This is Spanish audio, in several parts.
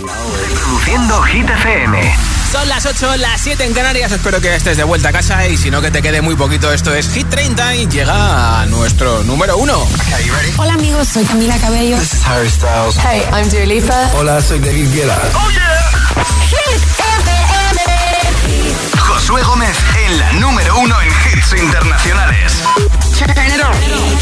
Reproduciendo Hit FM. Son las 8, las 7 en Canarias. Espero que estés de vuelta a casa y si no, que te quede muy poquito. Esto es Hit 30 y llega a nuestro número 1. Okay, you ready? Hola amigos, soy Camila Cabello. This is Harry Styles. Hey, I'm Dua Lipa. Hola, soy David Guetta. ¡Oh, yeah! Hit FM. Josué Gómez en la número 1 en hits internacionales. Turn it on.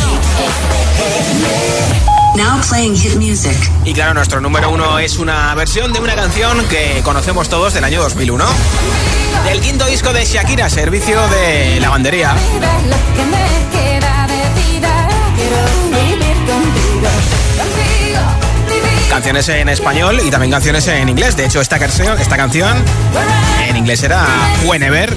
Now playing hit music. Y claro, nuestro número 1 es una versión de una canción que conocemos todos del año 2001. Del quinto disco de Shakira, Servicio de Lavandería. Canciones en español y también canciones en inglés. De hecho, esta canción en inglés era Whenever.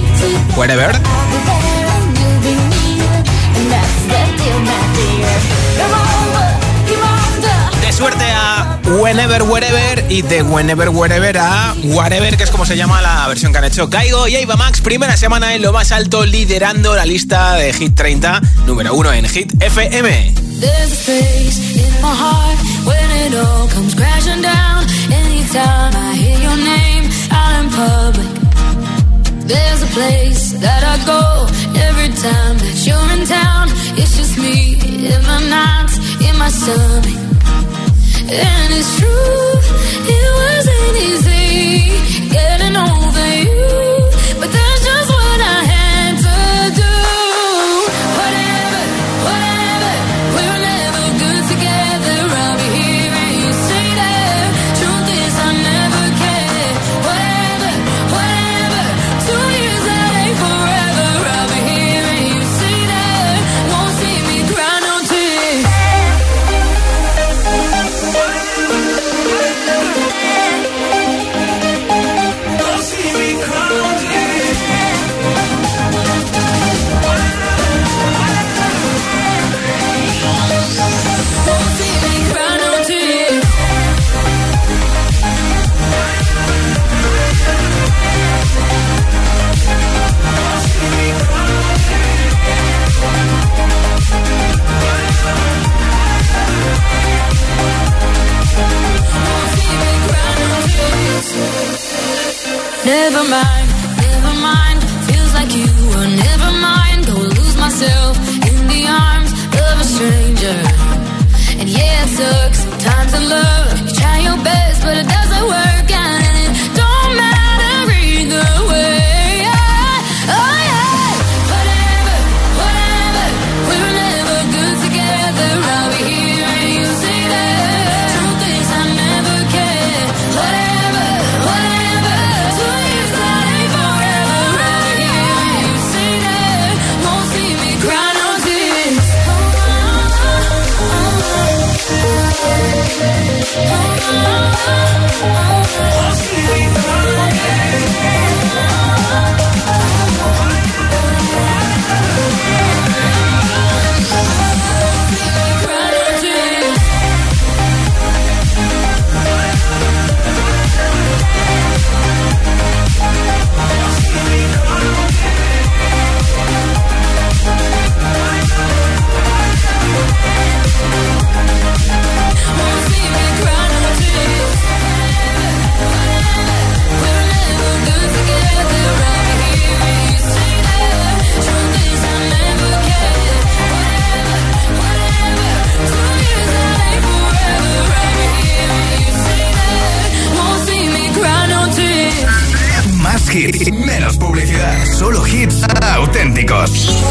De suerte a Whenever, Wherever, y de Whenever, Wherever a Whatever, que es como se llama la versión que han hecho Kygo y Ava Max. Primera semana en lo más alto, liderando la lista de Hit 30, número 1 en Hit FM. There's a space in my heart when it all comes crashing down. Anytime I hear your name out in public. There's a place that I go every time that you're in town. It's just me in my nights, in my stomach. And it's true, it wasn't easy getting over you, but that's just what I had to do. Whatever, we were never good together. I'll be here and you stay there. Truth is I never cared. Whatever, 2 years that ain't forever. I'll be here and you stay there. Won't see me cry no tears. Never mind, feels like you were never mine. Go lose myself in the arms of a stranger. And yeah, it sucks sometimes in love. You try your best, but it doesn't work out. And it don't matter either way. Oh yeah, whatever, we were never good together. I'll be here and you stay there. Truth is I never cared. Whatever, 2 years that ain't forever. I'll be here and you stay there. Won't see me cry no tears. Won't see me cry no Más hits, menos publicidad. Solo hits auténticos.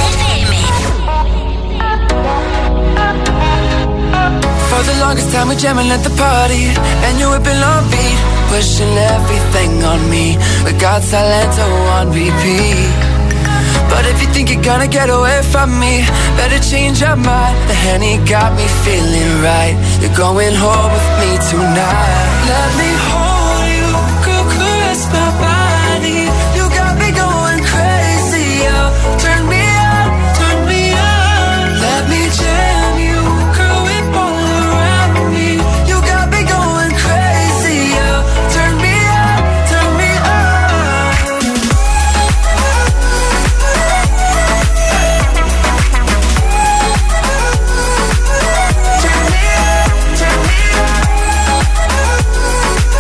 For the longest time we're jamming at the party, and you whipping on beat, pushing everything on me. We got Salento on repeat. But if you think you're gonna get away from me, better change your mind. The Henny got me feeling right. You're going home with me tonight. Let me hold you, go caress my body. You got me going crazy, oh. Turn me on, turn me on. Let me jam you, girl, whip all around me. You got me going crazy, oh. Turn me on, turn me on. Turn me on, turn me on.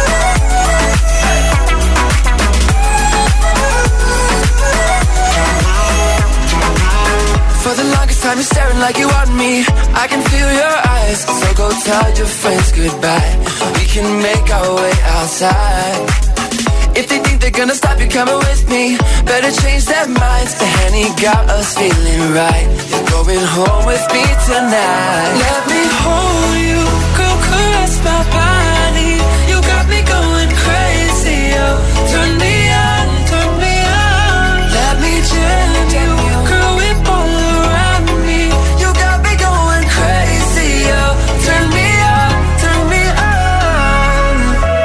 moving like you want me. I can feel your eyes, so go tell your friends goodbye. We can make our way outside. If they think they're gonna stop you coming with me, better change their minds. The Henny got us feeling right. You're going home with me tonight. Let me hold you, go caress my body. You got me going crazy, oh. Turn me on, turn me on. Let me jam you, girl, whip all around me. You got me going crazy, oh. Turn me on, turn me on.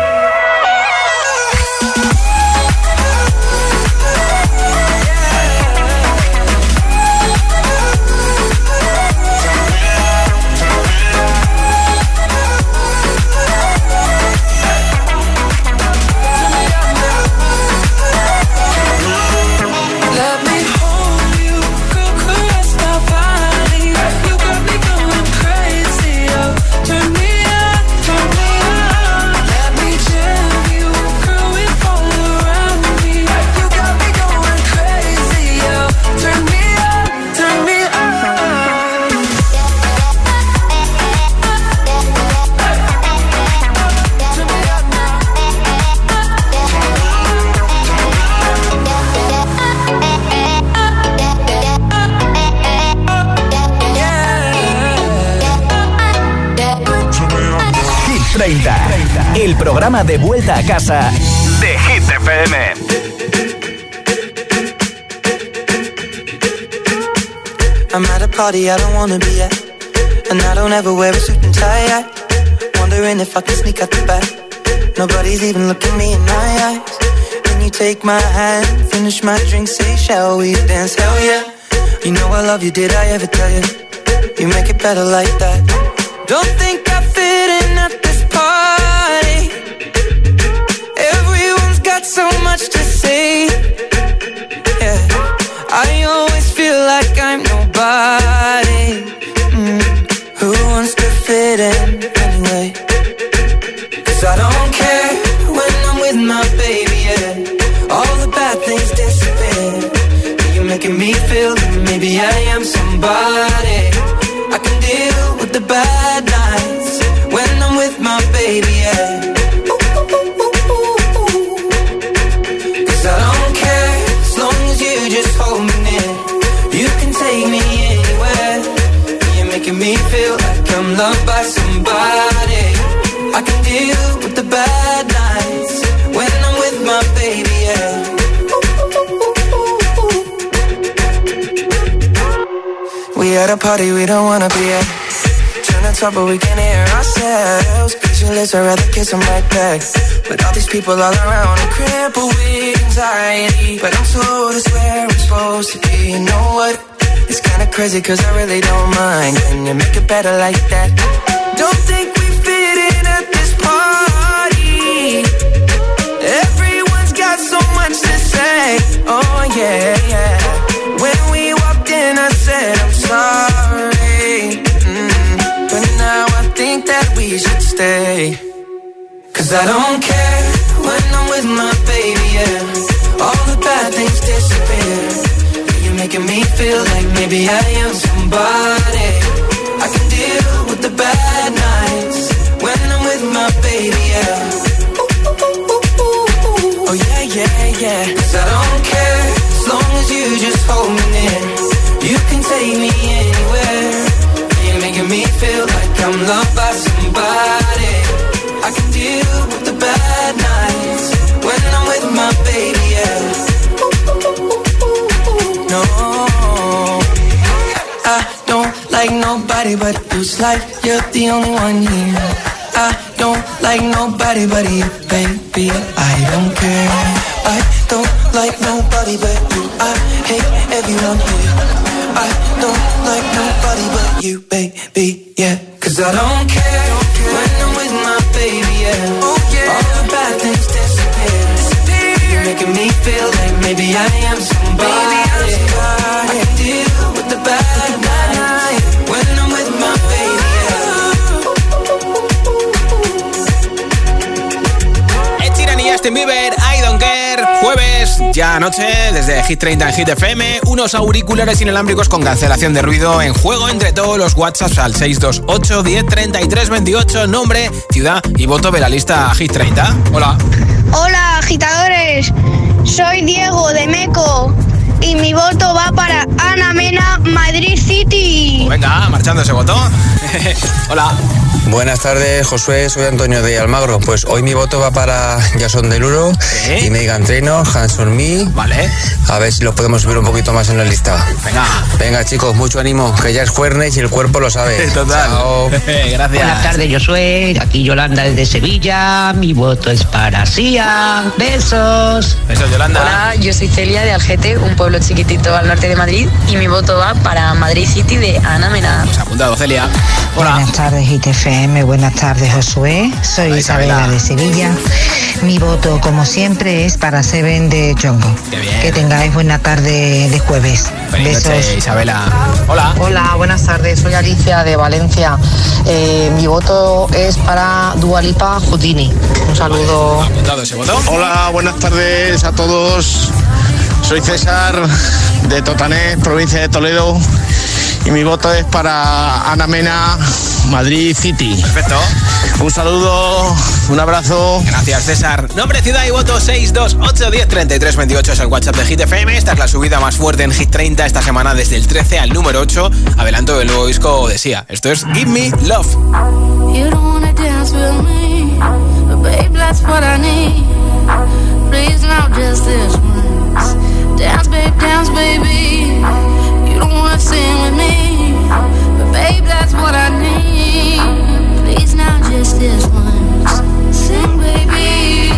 El programa de vuelta a casa de Hit FM. I'm at a party I don't wanna be at, and I don't ever wear a suit and tie. Wondering if I can sneak out the back. Nobody's even looking me in my eyes. Can you take my hand, finish my drink, say shall we dance? Hell yeah. You know I love you, did I ever tell you? You make it better like that. Don't think I fit in at this party. Everyone's got so much to say. Yeah, I always feel like I'm nobody. Who wants to fit in anyway? 'Cause I don't care when I'm with my baby, yeah. All the bad things disappear. You're making me feel that maybe I am somebody. I can deal with the bad nights when I'm with my baby, yeah. 'Cause I don't care as long as you just hold me near. You can take me anywhere. You're making me feel like I'm loved by somebody. I can deal with the bad nights when I'm with my baby, yeah. We at a party we don't wanna be at. Trying to talk but we can hear ourselves. Pictureless, I'd rather kiss them right back. But all these people all around, I'm crippled with anxiety. But I'm told it's where I'm supposed to be. You know what? It's kinda crazy 'cause I really don't mind. Can you make it better like that? Don't think we fit in at this party. Everyone's got so much to say. Oh yeah, yeah. When we walked in I said I'm sorry. But now I think that we should stay. 'Cause I don't care when I'm with my baby, yeah. All the bad things disappear. You're making me feel like maybe I am somebody. I can deal with the bad nights when I'm with my baby, yeah. Oh yeah, yeah, yeah. 'Cause I don't care as long as you just hold me near. You can take me anywhere. You're making me feel like I'm loved by somebody. I can deal with the bad nights when I'm with my baby, yeah. No, I don't like nobody but you. It's like you're the only one here. I don't like nobody but you, baby. I don't care. I don't like nobody but you. I hate everyone here. I don't like nobody but you, baby, yeah. 'Cause I don't care when I'm with my baby, yeah. Oh, yeah. All the bad things disappear. You're making me feel like maybe I am somebody. I can deal with the bad nights when I'm with my baby, yeah. Ed Sheeran y Justin Bieber, I Don't Care. Jueves, ya anoche, desde Hit 30 en Hit FM, unos auriculares inalámbricos con cancelación de ruido en juego entre todos los WhatsApps al 628 10 33 28. Nombre, ciudad y voto de la lista Hit 30. Hola. Hola, agitadores. Soy Diego de Meco y mi voto va para Ana Mena, Madrid City. Venga, marchando ese voto. Hola. Buenas tardes, Josué, soy Antonio de Almagro. Pues hoy mi voto va para Jason Derulo y Meghan Trainor, Hands on Me. Vale. A ver si los podemos subir un poquito más en la lista. Venga, chicos, mucho ánimo, que ya es jueves y el cuerpo lo sabe. Total. Chao. Gracias. Buenas tardes, Josué. Aquí Yolanda desde Sevilla. Mi voto es para Sia. Besos. Besos, Yolanda. Hola, yo soy Celia de Algete, un pueblo chiquitito al norte de Madrid. Y mi voto va para Madrid City de Ana Mena. Pues apuntado, Celia. Hola. Buenas tardes, ITFM. Buenas tardes, Josué. Soy Isabela de Sevilla. Mi voto, como siempre, es para Seven de Jongo. Que tengáis buena tarde de jueves. Feliz noche, Isabela. Hola. Hola, buenas tardes. Soy Alicia de Valencia. Mi voto es para Dua Lipa, Houdini. Un saludo. Apuntado ese voto. Hola, buenas tardes a todos. Soy César de Totané, provincia de Toledo. Y mi voto es para Ana Mena, Madrid City. Perfecto. Un saludo, un abrazo. Gracias, César. Nombre, ciudad y voto 628 10 33 28 es el WhatsApp de Hit FM. Esta es la subida más fuerte en Hit 30 esta semana, desde el 13 al número 8. Adelanto del nuevo disco de Sia. Esto es Give Me Love. You don't wanna dance with me, but babe, that's what I need. Please now just this once. Dance, baby. You don't wanna sing with me, but babe, that's what I need. Please now just this once. Sing, baby.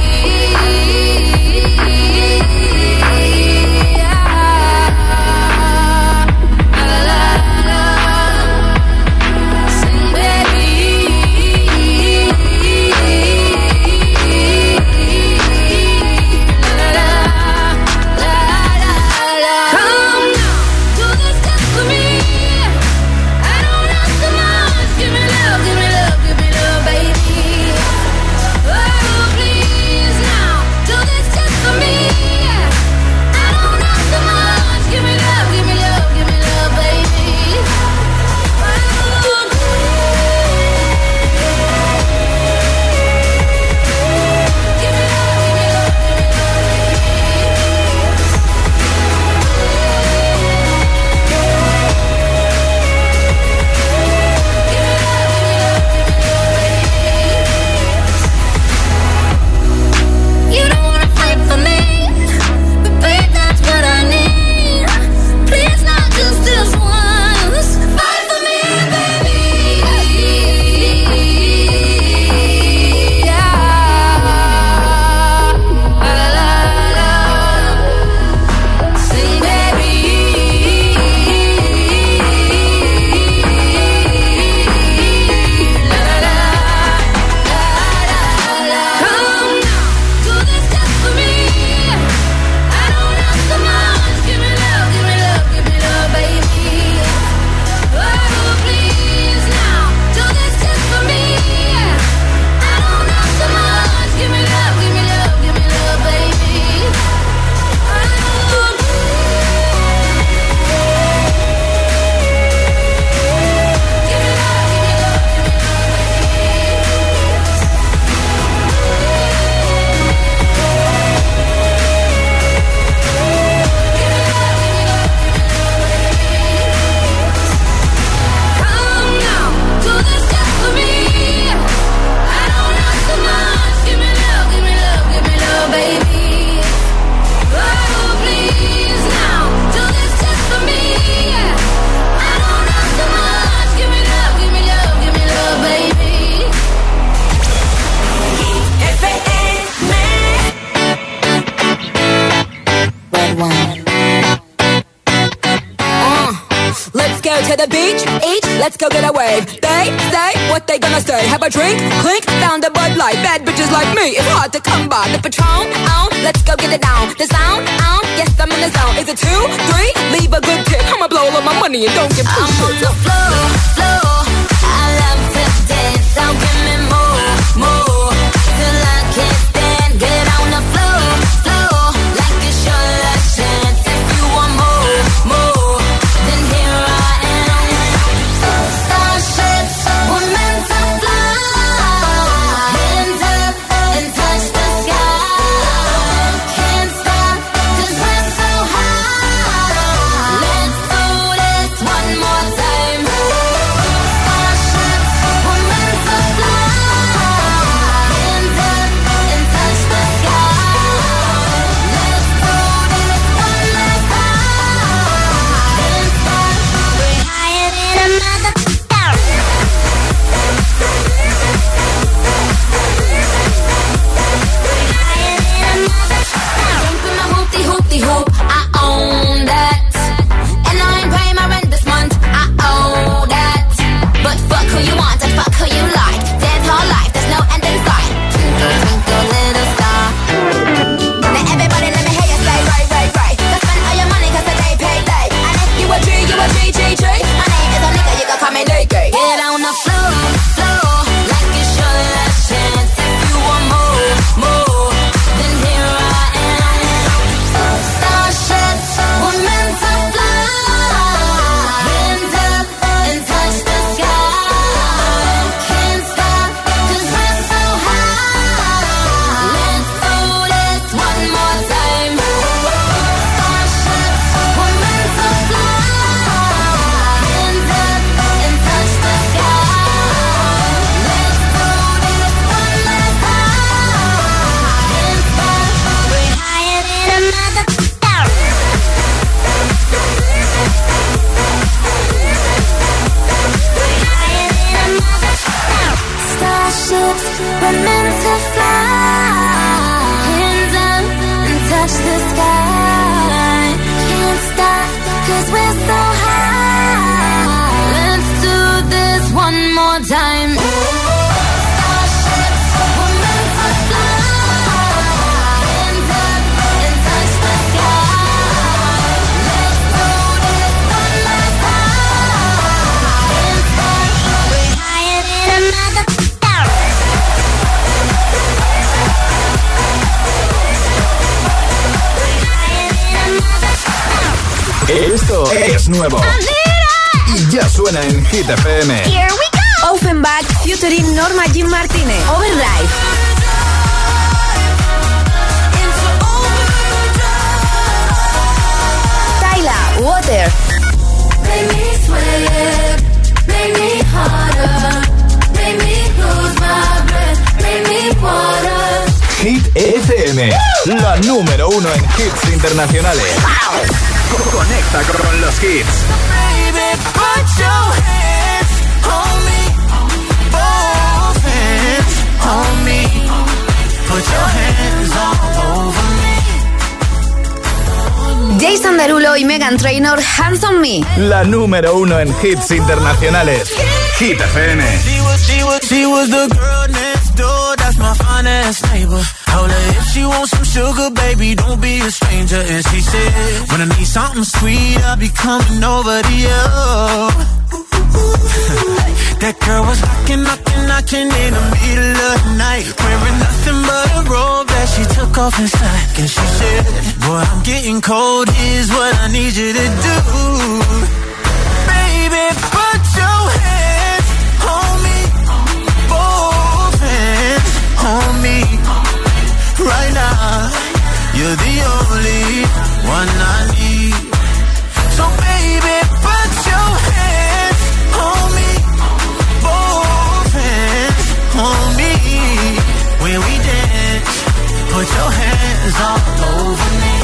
to the beach, each, let's go get a wave. They say what they gonna say. Have a drink, clink, found a Bud Light. Bad bitches like me, it's hard to come by. The Patron, let's go get it down. The sound, yes, I'm in the zone. Is it 2, 3? Leave a good tip. I'ma blow all of my money and don't give two shits. I'm on the floor, floor. I love to dance, so give me more, more. Till I can't stand, get on Esto es nuevo y ya suena en Hit FM. Here we go. Offenbach featuring Norma Jean Martínez. Overdrive. Tyla, Water. Make me sweat, make me harder, make me lose my breath, make me water. Hit FM, la número 1 en hits internacionales. Conecta con los hits. Baby, put your hands on me, both hands on me. Put your hands all over me. Jason Derulo y Meghan Trainor, Hands on Me. La número 1 en hits internacionales. Hit FM. She was the girl next door, that's my finest neighbor. Told her if she wants some sugar, baby, don't be a stranger. And she said, when I need something sweet, I'll be coming over to you. That girl was knocking in the middle of the night, wearing nothing but a robe that she took off inside. And she said, boy, I'm getting cold, here's what I need you to do. Baby, put your hands on me, both hands on me. Right now, you're the only one I need. So baby, put your hands on me, both hands on me. When we dance, put your hands all over me.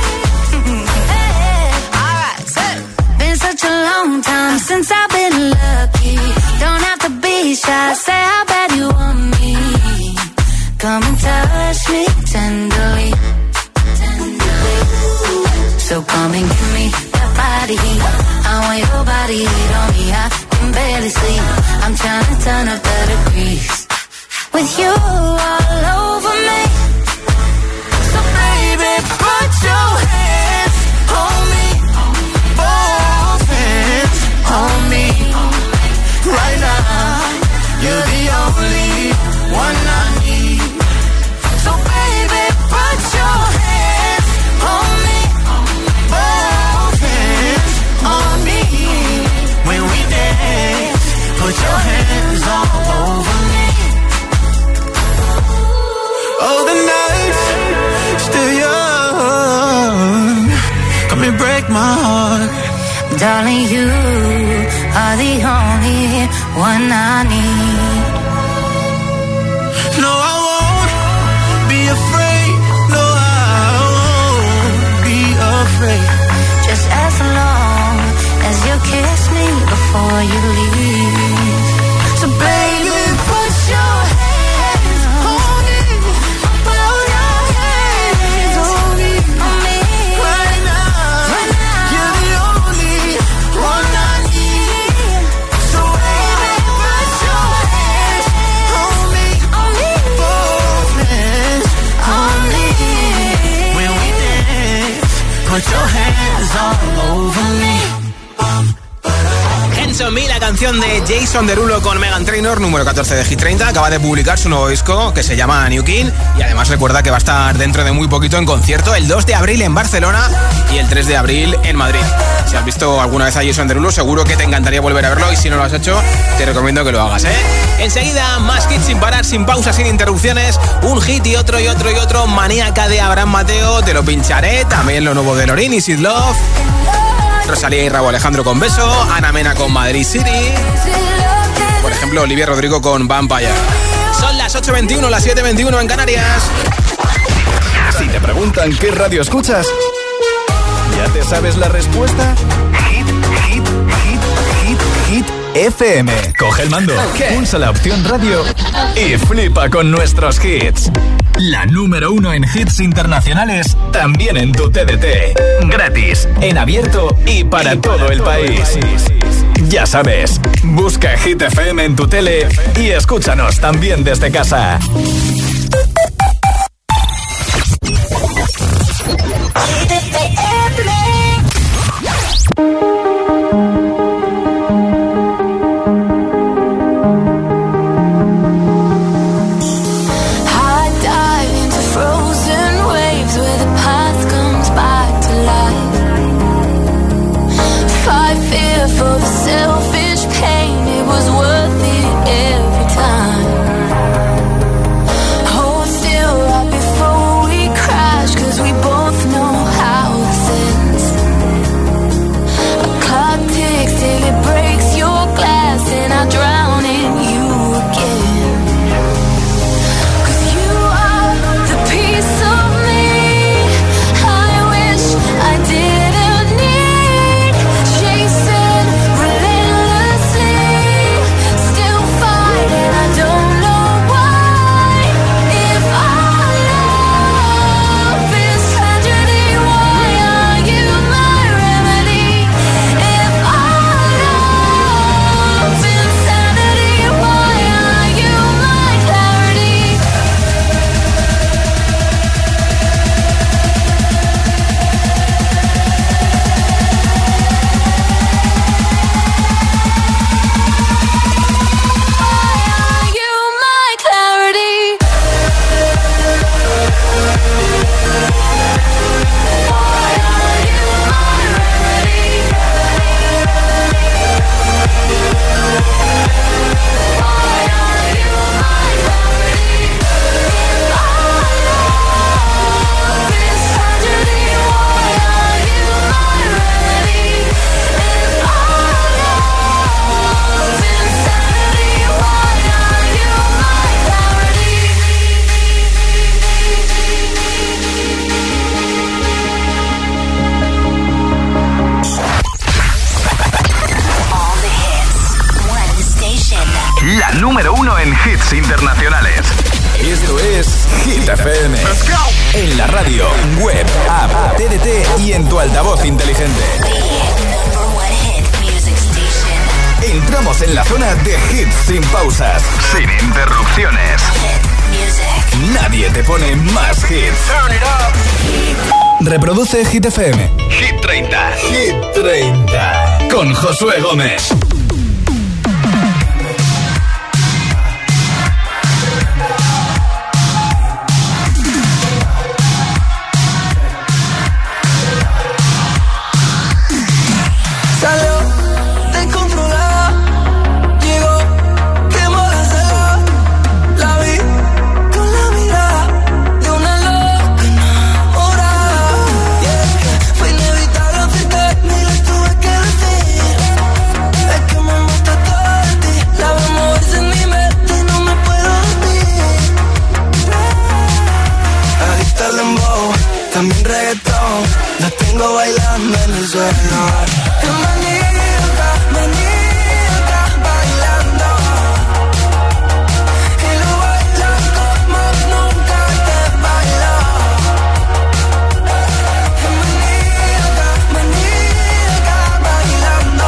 Alright, so been such a long time since I've been lucky. Don't have to be shy, say how bad you want me. Come and touch me tenderly, tenderly. So come and give me that body heat. I want your body heat on me. I can barely sleep. I'm trying to turn up the degrees with you all over me. So baby, put your hands on me, both hands on me. Right now, you're the only one I need. So baby, put your hands on me, both hands on me. When we dance, put your hands all over me. Oh, the night's still young, come and break my heart. Darling, you are the only one I need. No, I won't be afraid. No, I won't be afraid. Just as long as you kiss me before you leave. So baby, put your hands on me. Put your hands on me. Right now, you're the only one I need. So baby, put your hands on me. Both hands on me. When we dance, put your hands all over me. Hands on Me, la canción de Jason Derulo con Meghan Trainor, número 14 de Hit 30. Acaba de publicar su nuevo disco que se llama New King y además recuerda que va a estar dentro de muy poquito en concierto el 2 de abril en Barcelona y el 3 de abril en Madrid. Si has visto alguna vez a Jason Derulo, seguro que te encantaría volver a verlo y si no lo has hecho, te recomiendo que lo hagas, ¿eh? Enseguida, más hits sin parar, sin pausas, sin interrupciones. Un hit y otro y otro y otro. Maníaca de Abraham Mateo, te lo pincharé. También lo nuevo de Lorin y Sid Love. Rosalía y Rauw Alejandro con Beso, Ana Mena con Madrid City, por ejemplo Olivia Rodrigo con Vampire. Son las 8:21, las 7:21 en Canarias. Si te preguntan qué radio escuchas, ¿ya te sabes la respuesta? Hit FM. Coge el mando, pulsa la opción radio y flipa con nuestros hits. La número 1 en hits internacionales, también en tu TDT. Gratis, en abierto y para todo el país. Ya sabes, busca Hit FM en tu tele y escúchanos también desde casa. hits internacionales. Esto es Hit FM. En la radio, web, app, TDT y en tu altavoz inteligente. Entramos en la zona de hits sin pausas, sin interrupciones. Nadie te pone más hits. Turn it up. Reproduce Hit FM. Hit 30. Hit 30. Con Josué Gómez. También reggaetón, la tengo bailando en el suelo. Maníaca, maníaca, bailando. Y lo bailo como nunca te bailó. Maníaca, maníaca, bailando.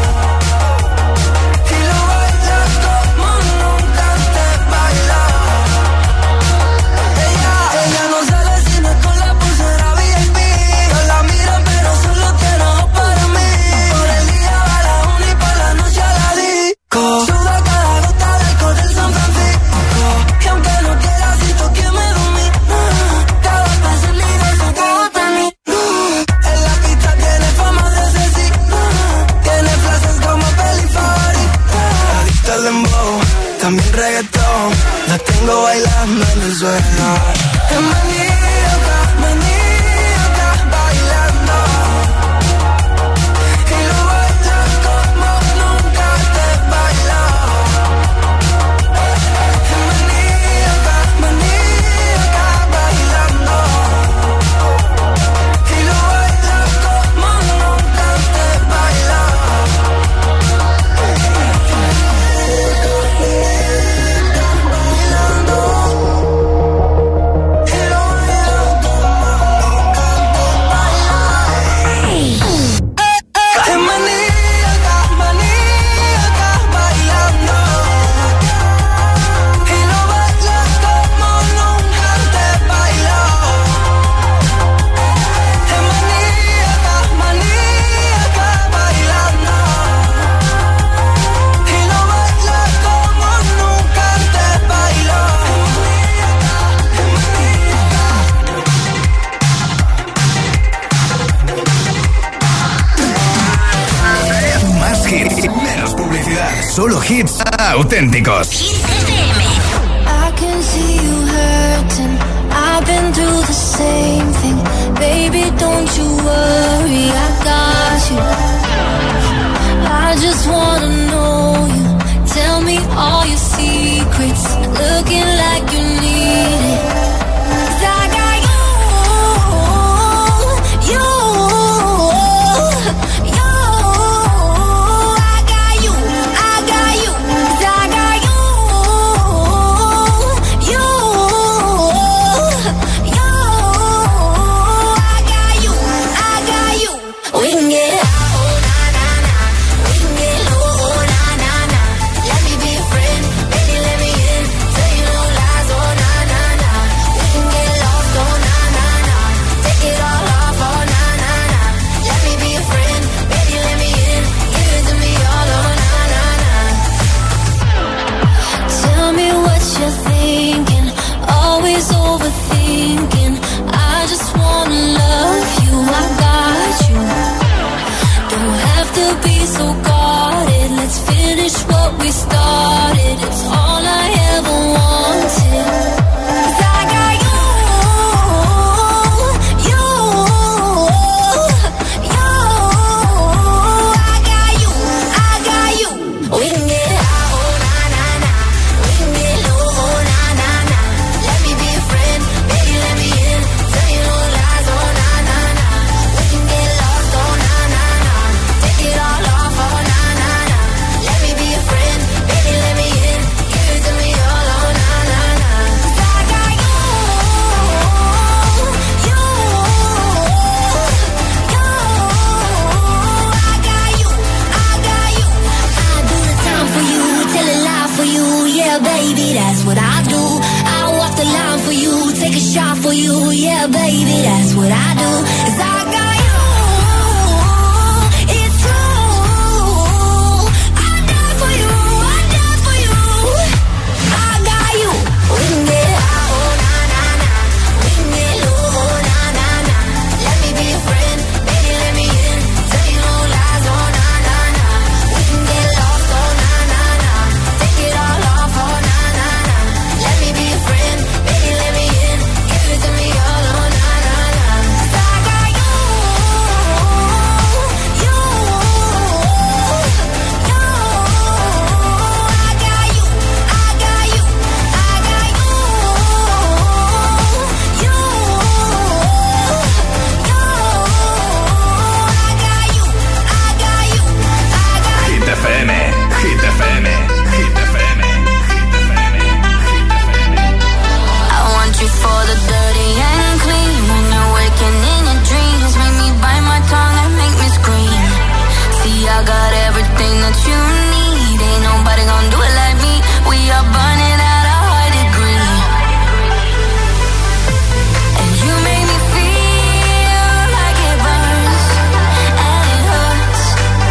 Y lo bailo como nunca te bailó. Ella no sale sino con la pulsera VIP. No la miro pero solo quiero para mí. Por el día va a la una y por la noche a la disco. Suda cada gota del alcohol del San Francisco. Y aunque no quiera siento que me domina. Cada paso es libre, eso te gusta a mí. En la pista tiene fama de asesina. Tiene frases como peli favorita. Adicta al dembow, también reggaetón. La tengo bailando en el suelo. Es maníaca, maníaca, bailando. Y lo baila como nunca te bailó. Es maníaca, maníaca, bailando. Y lo baila como nunca te bailó. Solo hits auténticos. I can see you hurting. I've been through the same thing. Baby, don't you worry, I got you. I just wanna know you. Tell me all your secrets. Looking like you need it. 'Cause I got you. I got you. 'Cause I got you. you, yeah, baby, that's what I do. 'Cause I got you, it's true. I die for you, I die for you. I got you. We can get high, oh na na na. We can get low, oh na na na. Let me be your friend, baby, let me in. Tell you no lies, oh na na na. We can get lost, oh na na na. Take it all off, oh na na na. Let me be your friend, baby, let me in. Give it to me all, oh na na na. 'Cause I got you, you, you. I got you, I got you, I got you, you, you. I got you, I got you, I got you. Hit FM, Hit FM, Hit FM. I want you for the dirty and clean. When you're waking in your dreams, make me bite my tongue and make me scream. See, I got everything that you need. Ain't nobody gonna do it like me. We are burning at a high degree. And you make me feel like it burns and it hurts.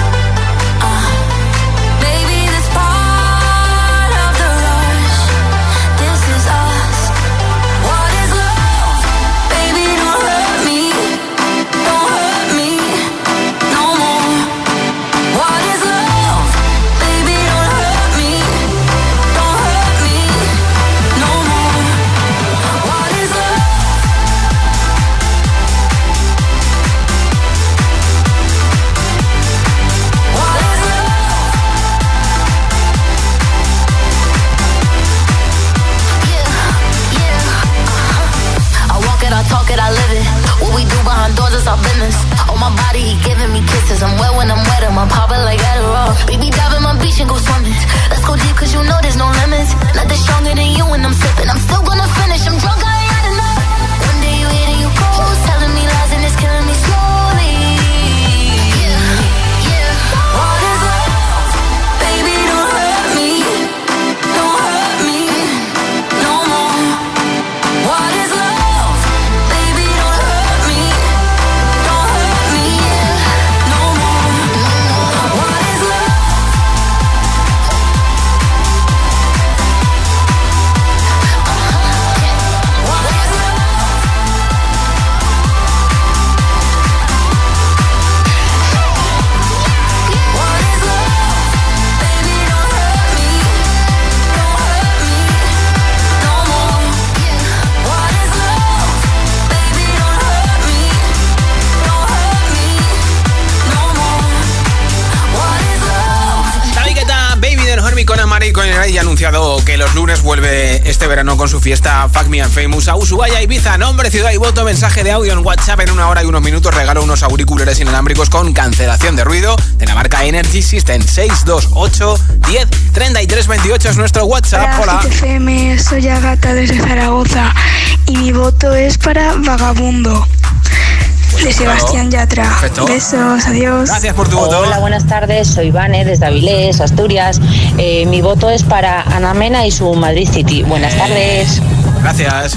Baby, this part of the rush. This is us. What is love? Baby, don't hurt me. Don't hurt me no more. What is love? Baby, don't hurt me. Don't hurt me no more. What is love? What is love? I walk it, I talk it, I live it. What we do behind doors is our business. On my body, he giving me kisses. I'm wet when I'm wet, I'm popping like Adderall. Baby, dive in my beach and go swimming. Let's go deep, 'cause you know there's no limits. Nothing stronger than you when I'm sipping. I'm still gonna finish, I'm drunk, I ain't had enough. One day you hit and you close, telling me lies and it's killing me slowly. What is love? Baby, don't hurt me. Don't hurt me no more. What is love? Baby, don't hurt me. Don't hurt me no more. What is love? What is love? What is love? Baby, don't hurt me. Don't hurt me no more. What is love? Baby, don't hurt me. Don't hurt me no more. What is love? David Guetta, Baby Don't Hurt Me con Amari con el y ha anunciado que los lunes vuelve este verano con su fiesta Fuck Me and Famous a Ushuaia, Ibiza. Nombre, ciudad y voto, mensaje de audio en WhatsApp. En 1 hora y unos minutos regalo unos auriculares inalámbricos con cancelación de ruido de la marca Energy System. 628 10 33 28 es nuestro WhatsApp. Hola. Hit FM, soy Agata desde Zaragoza y mi voto es para Vagabundo, de Sebastián Yatra. Perfecto. Besos, adiós. Gracias por tu voto. Hola, buenas tardes, soy Vane desde Avilés, Asturias. Mi voto es para Ana Mena y su Madrid City. Buenas tardes. Gracias.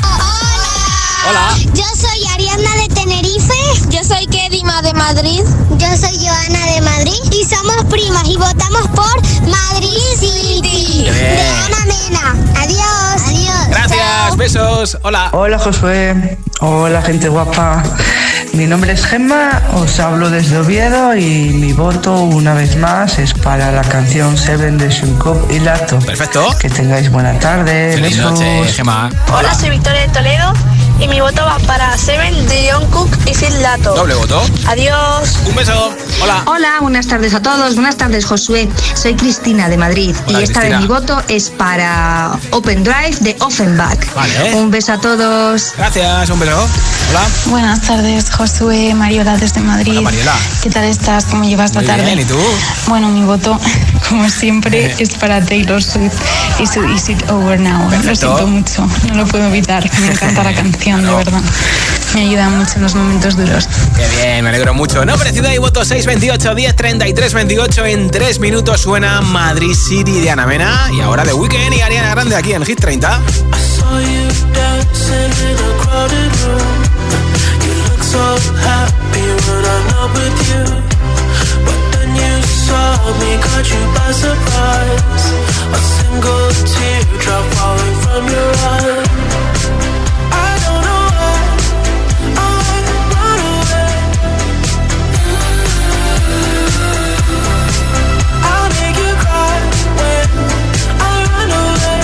Hola. Yo soy Ariadna de Tenerife. Yo soy Kedima de Madrid. Yo soy Joana de Madrid. Y somos primas y votamos por Madrid City. Qué bien. De Ana Mena. Adiós. Adiós. Gracias, Chao. besos. Hola. Hola Josué, hola gente guapa. Mi nombre es Gemma, os hablo desde Oviedo y mi voto una vez más es para la canción Seven de Shunkob y Lato. Perfecto. Que tengáis buena tarde. Feliz Besos. noche, Gemma. Hola, soy Victoria de Toledo y mi voto va para Seven de Jungkook y Phil Lato. Doble voto. Adiós. Un beso. Hola. Hola, buenas tardes a todos. Buenas tardes, Josué. Soy Cristina de Madrid. Hola, y esta Cristina. vez mi voto es para Open Drive de Offenbach. Vale. Un beso a todos. Gracias, un beso. Hola. Buenas tardes, Josué, Mariola desde Madrid. Hola, Mariola. ¿Qué tal estás? ¿Cómo llevas la Muy tarde? bien, ¿y tú? Bueno, mi voto, como siempre, es para Taylor Swift y su Is It Over Now. Perfecto. Lo siento mucho, no lo puedo evitar. Me encanta la canción, de verdad. Me ayuda mucho en los momentos duros. Qué bien, me alegro mucho. Nombre, ciudad y voto 628 10 33 28. En 3 minutos suena Madrid City de Ana Mena. Y ahora The Weeknd y Ariana Grande aquí en Hit 30. I saw you dancing in a crowded You look so happy when I'm not with you, but then you saw me, caught you by surprise. A single teardrop falling from your eye. I don't know why I run away. I'll make you cry when I run away.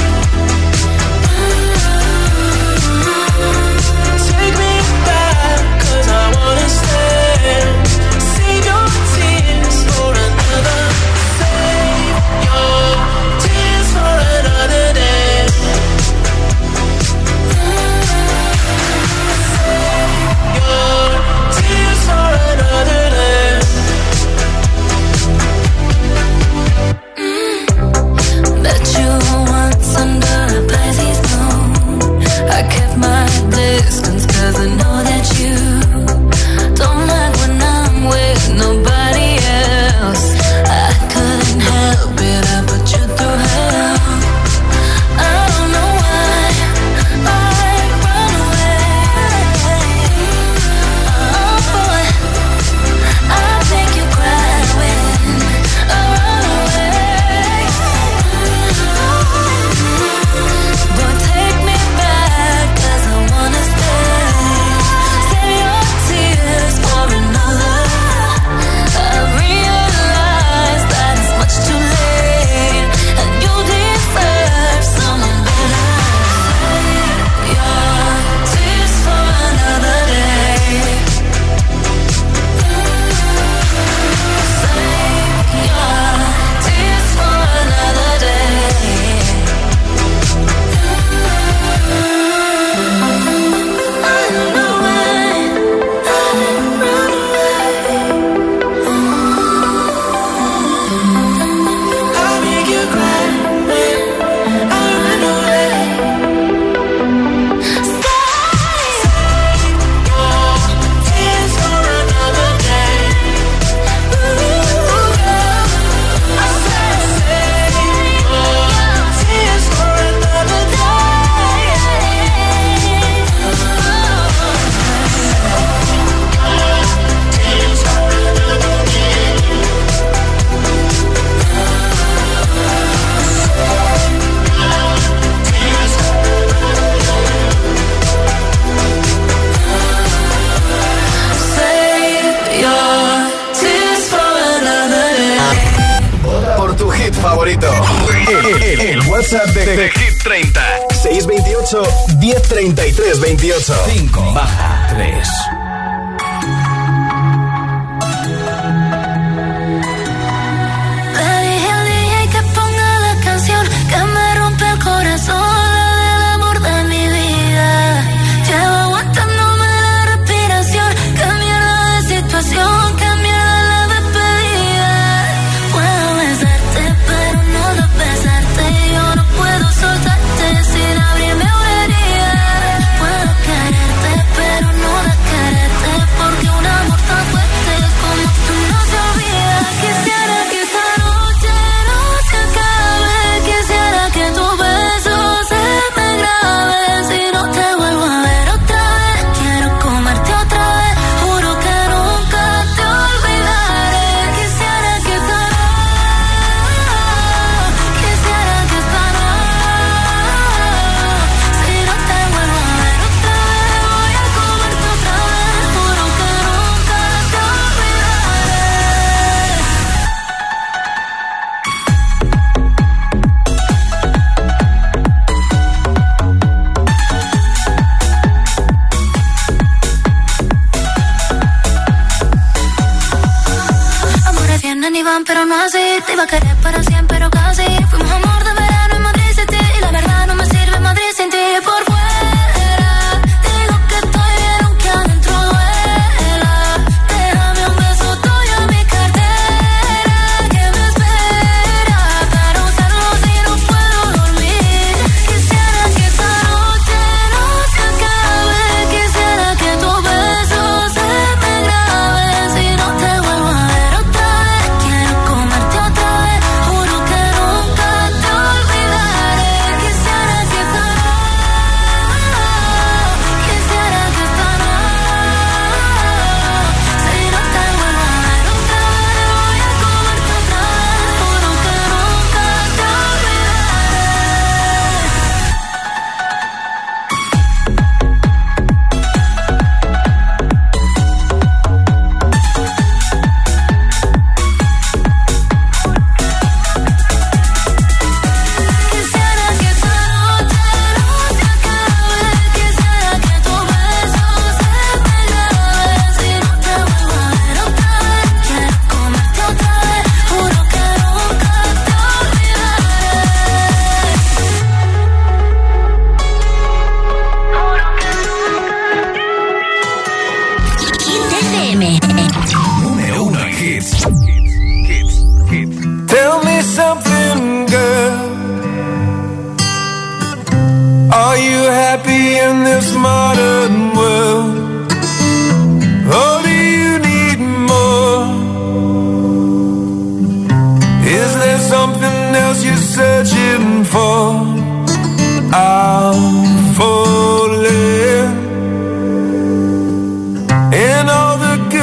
Take me back, 'cause I wanna stay. Save your tears for another. Save your tears for another day. Save your tears for another day. Bet you once under a Pisces moon I kept my distance 'cause I know that you don't like when I'm with nobody else. I couldn't help it, I put you through hell. I don't know why I run away. Oh boy, I make you cry when I run away. But take me back, 'cause I wanna stay. Save your tears for another. I realize that it's much too late, and you deserve someone better. Save your tears for another day. Save your tears for another day. I don't know why I run away. I'll make you cry when I run away. Save your tears for another day. I said save your tears for another day. Tears for another day. Save your tears for another day. Por tu hit favorito. El WhatsApp de Hit 30. 628 1033 28. 5 baja 3. Le dije al DJ que ponga la canción que me rompe el corazón, la del amor de mi vida. Llevo aguantándome la respiración. Qué mierda de situación, qué mierda la despedida. Puedo besarte, pero no besarte. Yo no puedo soltarte sin abrirme una herida. Puedo quererte, pero no quererte, porque un amor tan fuerte como tú no se olvida. Quisiera que esta noche no se acabe. Quisiera que tu beso se me grabe. Si no te vuelvo a ver otra vez, quiero comerte otra vez. Juro que nunca te olvidaré. Quisiera que esta noche, quisiera que esta noche, si no te vuelvo a ver otra vez, voy a comerte otra vez. Juro que nunca te olvidaré. Amores vienen y van, pero no así. Te iba a querer para siempre, pero casi. Fuimos amor de verano en Madrid City, y la verdad no me sirve Madrid sin ti. Por fuera digo que estoy bien, aunque adentro duela. Déjame un beso tuyo en mi cartera, que me espera para usarlo si no puedo dormir. Quisiera que esta noche no se acabe. Quisiera que tu beso se me grabe. Si no te vuelvo a ver otra vez, quiero comerte otra vez. Juro que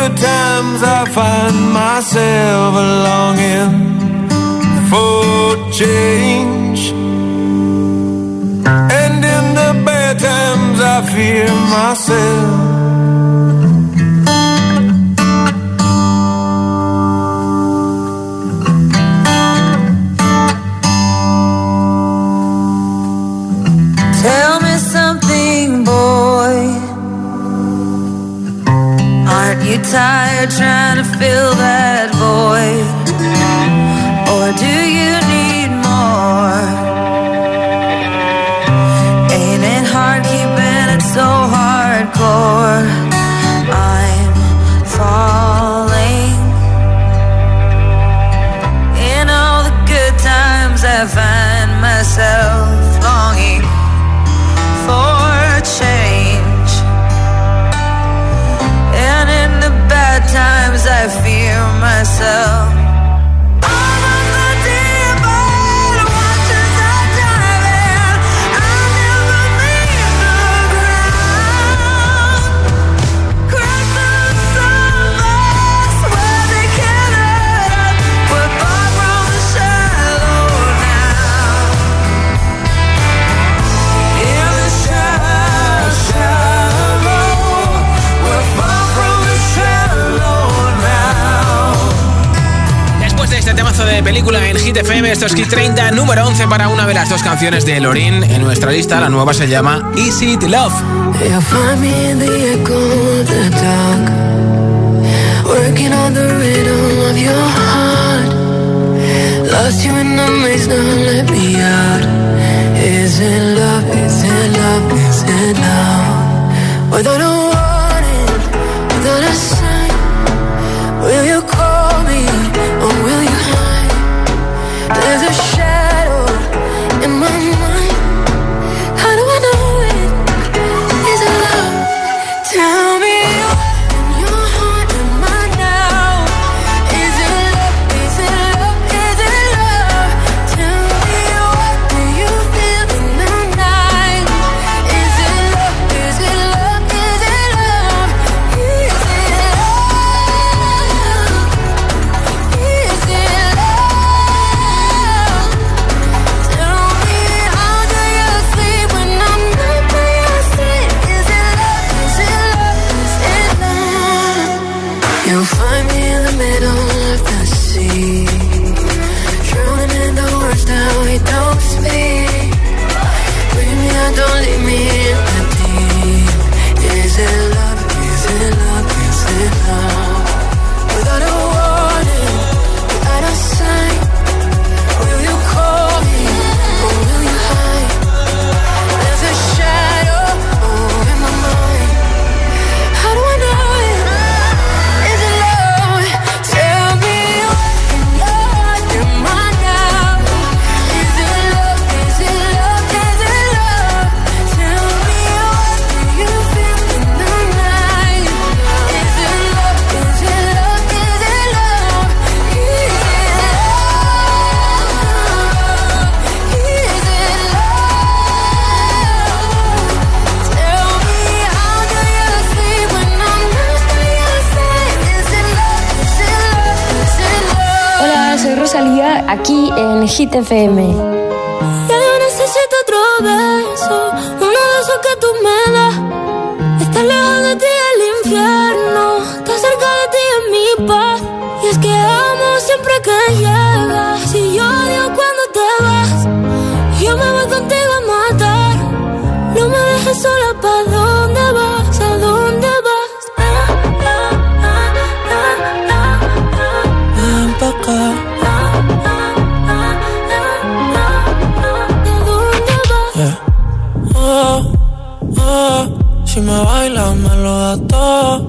good times I find myself longing for change, and in the bad times I fear myself. Tell me something, boy. Aren't you tired trying to fill that void? Or do you need more? Ain't it hard keeping it so hardcore? I'm falling. In all the good times I find myself longing for change, and in the bad times I fear myself. De película en Hit FM, esto es Hit 30, número 11 para una de las dos canciones de Lorin en nuestra lista. La nueva se llama Easy to Love. Find me in the echo of the dark, working on the rhythm of your heart. Lost you in the maze, now let me out. Is it love, is it love, is it love? Without a warning, without a sign, will you call me or will you hide? There's a shadow in my mind. How do I know it? Is it love? Tell me in your heart, am I now? Is it love? Is it love? Is it love? Tell me what do you feel in the night? Is it love? Is it love? Is it love? Is it love? Is it love? You'll find me in the middle of the sea, drowning in the words that we don't speak. Bring me out, don't leave me in the deep. Is it love? Is it love? Is it love? Without a warning, without a sign, will you call me or will you hide? There's a shadow in my mind. How do I know it? Rosalía, aquí en Hit FM. Ya yo necesito otro beso, uno de esos que tú me das. Estar lejos de ti el infierno, estar cerca de ti es mi paz. Y es que amo siempre que llegas, y yo odio cuando te vas. Yo me voy contigo a matar, no me dejes sola, ¿pa' dónde vas? ¿A dónde vas? Ven pa' acá. Si me bailas me lo das todo.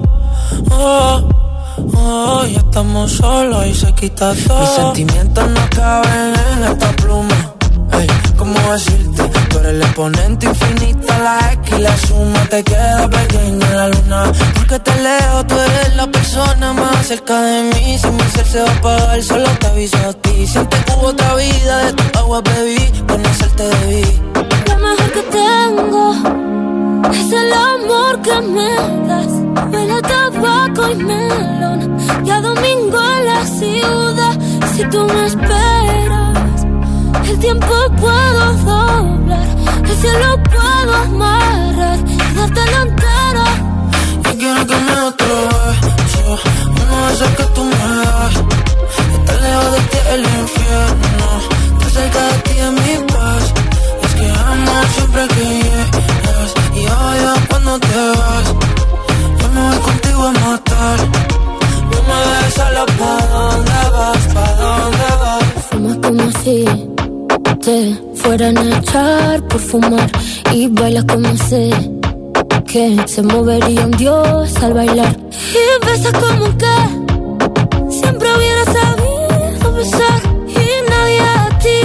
Ya estamos solos y se quita todo. Mis sentimientos no caben en esta pluma. Ey, ¿cómo decirte? Tú eres el exponente infinito, la X y la suma te queda pequeña en la luna. Porque te leo, tú eres la persona más cerca de mí. Si mi ser se va a apagar, solo te aviso a ti. Siente que hubo otra vida, de tu agua bebí, conocerte debí. Lo mejor que tengo es el amor que me das. Huele a tabaco y me Ya domingo en la ciudad, si tú me esperas, el tiempo puedo doblar, el cielo puedo amarrar y dártelo entero. Yo quiero que me otro beso, uno de esos que tú me das. Estar lejos de ti el infierno, estar cerca de ti es mi paz. Es que amo siempre que llegas y odio cuando te vas. Yo me voy contigo a matar. No me dejes sola, ¿pa' dónde vas? ¿Pa' dónde vas? Fumas como si te fueran a echar por fumar y bailas como sé que se movería un dios al bailar. Y besas como que siempre hubiera sabido besar y nadie a ti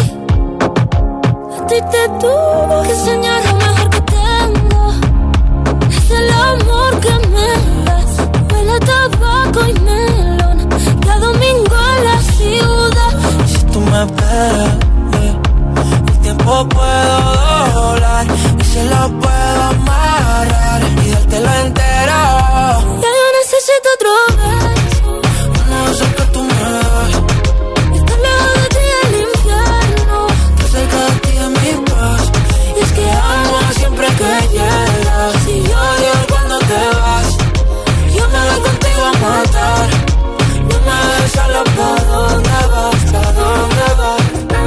te tuvo que enseñar lo mejor que tengo. Es el amor que me das, huele a tabaco y melón. Cada domingo en la ciudad. Si tú me esperas, el tiempo puedo doblar y se lo puedo amarrar y dártelo entero. Ya yo necesito otro beso, uno de esos que tú me das. Estar lejos de ti el infierno, estar cerca de ti es mi paz. y es que amo siempre que llegas y odio cuando te vas. Yo me voy contigo a matar. No me dejes solo, ¿pa' dónde vas? ¿Pa' dónde vas?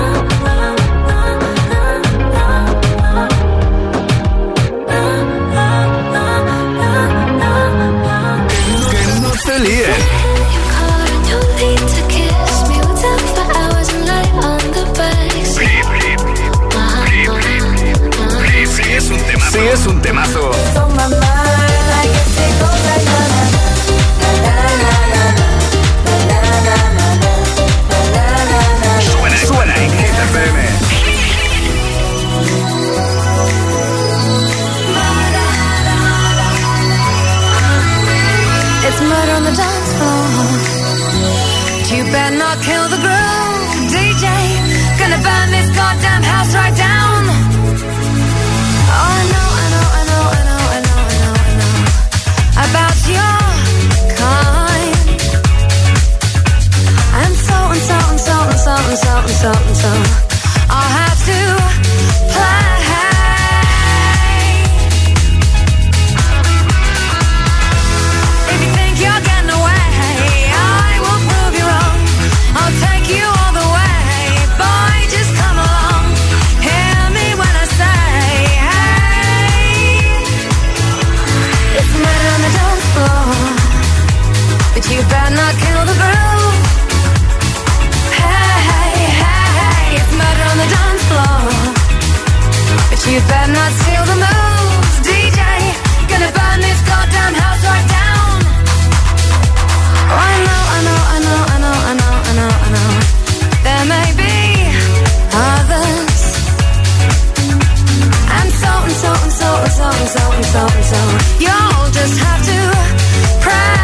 Que no te líen. Sí, es un temazo. Sí, es un temazo. Suena en Hit FM. it's murder on the dance floor. You better not kill the groove, DJ. Gonna burn this goddamn house right down. Oh, I know about your kind. And so I'll have to play. If you think you're getting away, I will prove you wrong. I'll take you all the way, boy, just come along. Hear me when I say, hey, it's murder on the dance floor, but you better not kill the groove. Hey, it's murder on the dance floor, but you better not steal the moves, DJ. Gonna burn this goddamn house right down. Oh, I know. There may be others, and so you'll just have to pray.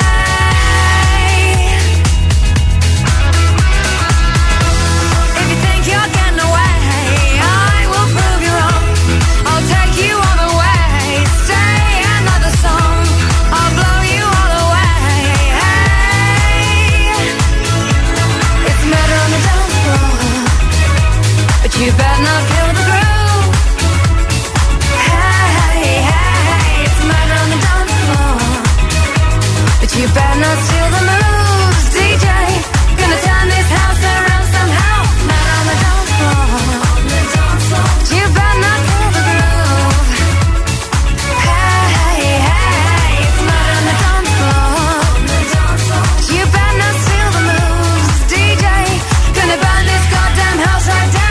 If you think you're getting away, I will prove you wrong. I'll take you all the way. Say another song, I'll blow you all away. Hey, it's murder on the dance floor, but you better not kill the groove. Hey, it's murder on the dance floor, but you better not steal the moves, DJ. Gonna turn this house around somehow. Murder on the dance floor, but you better not kill the groove. Hey, it's murder on the dance floor, but you better not steal the moves, DJ. Gonna burn this goddamn house right down.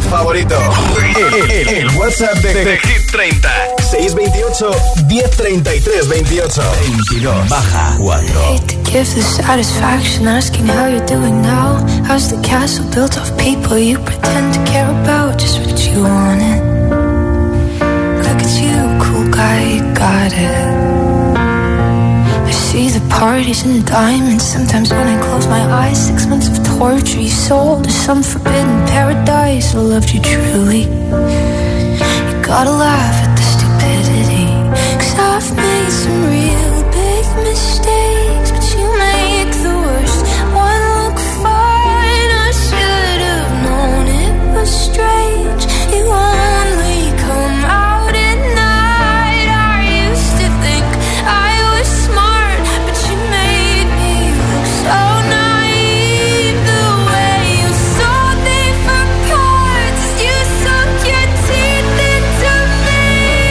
favorito. El WhatsApp de Hit 30. 628 1033 28. 22 baja 4. Hate to give the satisfaction asking how you're doing now. How's the castle built of people you pretend to care about? Just what you wanted. Look at you, cool guy, you got it. I see the parties and the diamonds. Sometimes when I close my eyes, 6 months of torture you sold to some forbidden paradise. I loved you truly. You gotta laugh at the stupidity, 'cause I've made some real big mistakes, but you make the worst one look fine. I should have known it was strange. You only come out at night. I used to think I was smart, but you made me look so naive. The way you sold me for parts, you sunk your teeth into me.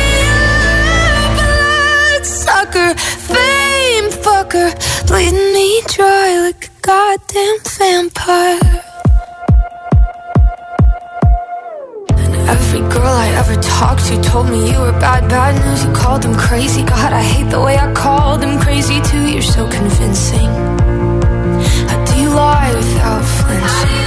Bloodsucker, fame fucker, bleeding me dry like a goddamn vampire. Every girl I ever talked to told me you were bad, bad news. You called them crazy. God, I hate the way I called them crazy too. You're so convincing. How do you lie without flinching?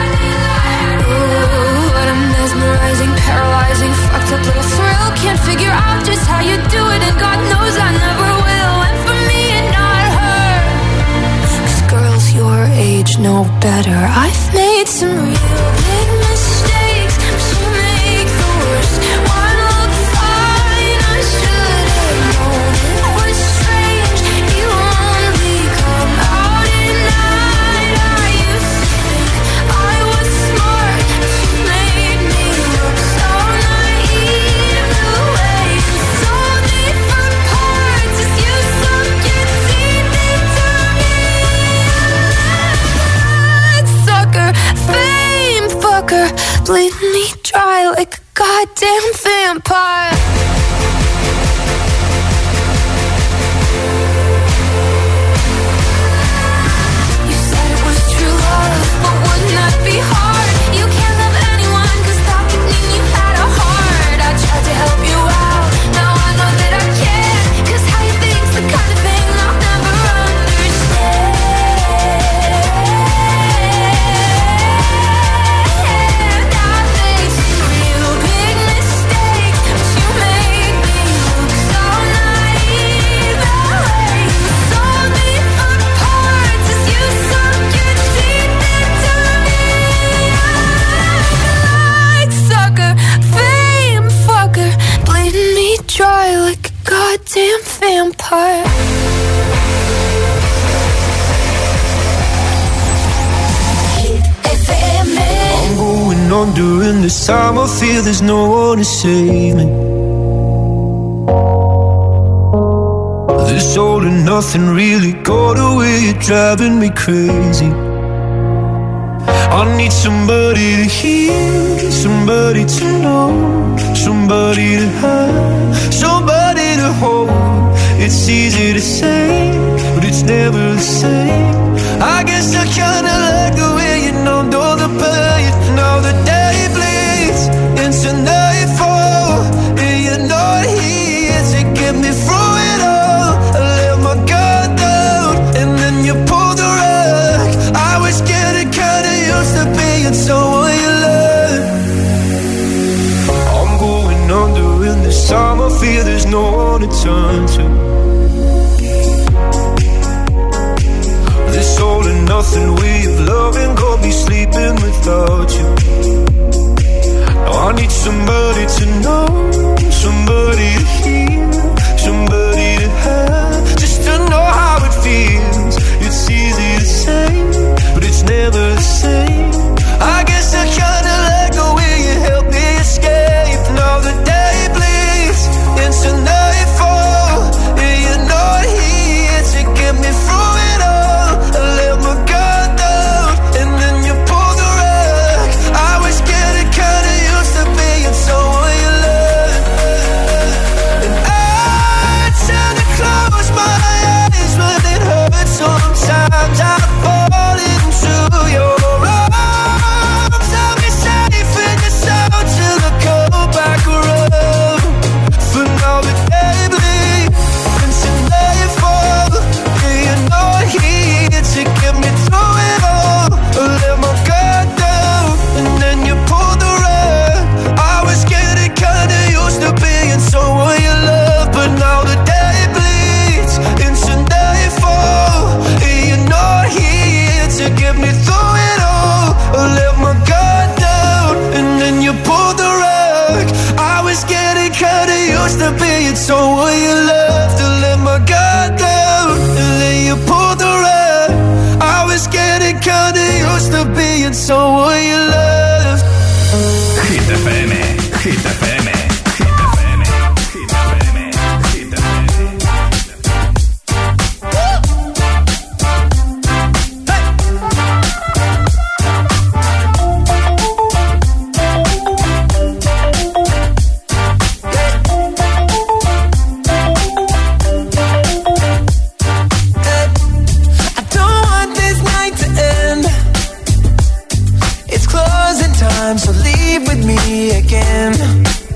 Ooh, what a mesmerizing, paralyzing, fucked up little thrill. Can't figure out just how you do it, and God knows I never will. And for me and not her, 'cause girls your age know better. I've made some real big mistakes, but you make the worst one look fine. I should have known it was strange. You only come out at night. I used to think I was smart, but you made me look so naive. The way you sold me for parts is you sunk your teeth into me. Sucker, fame fucker, bleeding me dry like a goddamn vampire. You said it was true love, but wouldn't that be hard? You can't love anyone, 'cause that would mean you had a heart. I tried to help you out, now I know that I can't, 'cause how you think's the kind of thing I'll never understand. I made some real big mistakes, but you made me look so naive. The way you sold me for parts is you sunk your teeth into me. Bloodsucker, fame fucker, bleeding me dry like a goddamn vampire. I'm going on during this time. I feel there's no one to save me. This all and nothing really got away. You're driving me crazy. I need somebody to hear, somebody to know, somebody to have, somebody to hold. It's easy to say, but it's never the same. I guess I kinda like the way you numbed all the pain. Now the day bleeds into nightfall, and you're not here to get me through it all. I let my guard down, and then you pulled the rug. I was getting kinda used to being someone you love. I'm going under in this time. I feel there's no one to turn to. This all and nothing way of loving got me sleeping without you. Now I need somebody to know, somebody to hear, somebody to have, just to know how it feels. It's easy to say, but it's never the same. I guess I kinda like the way you help me escape. Now the day bleeds into nightfall, and you're not here to get me through it all. I let my guard down, and then you pull the rug. me, and so will your love. Hit FM, Hit FM. So leave with me again.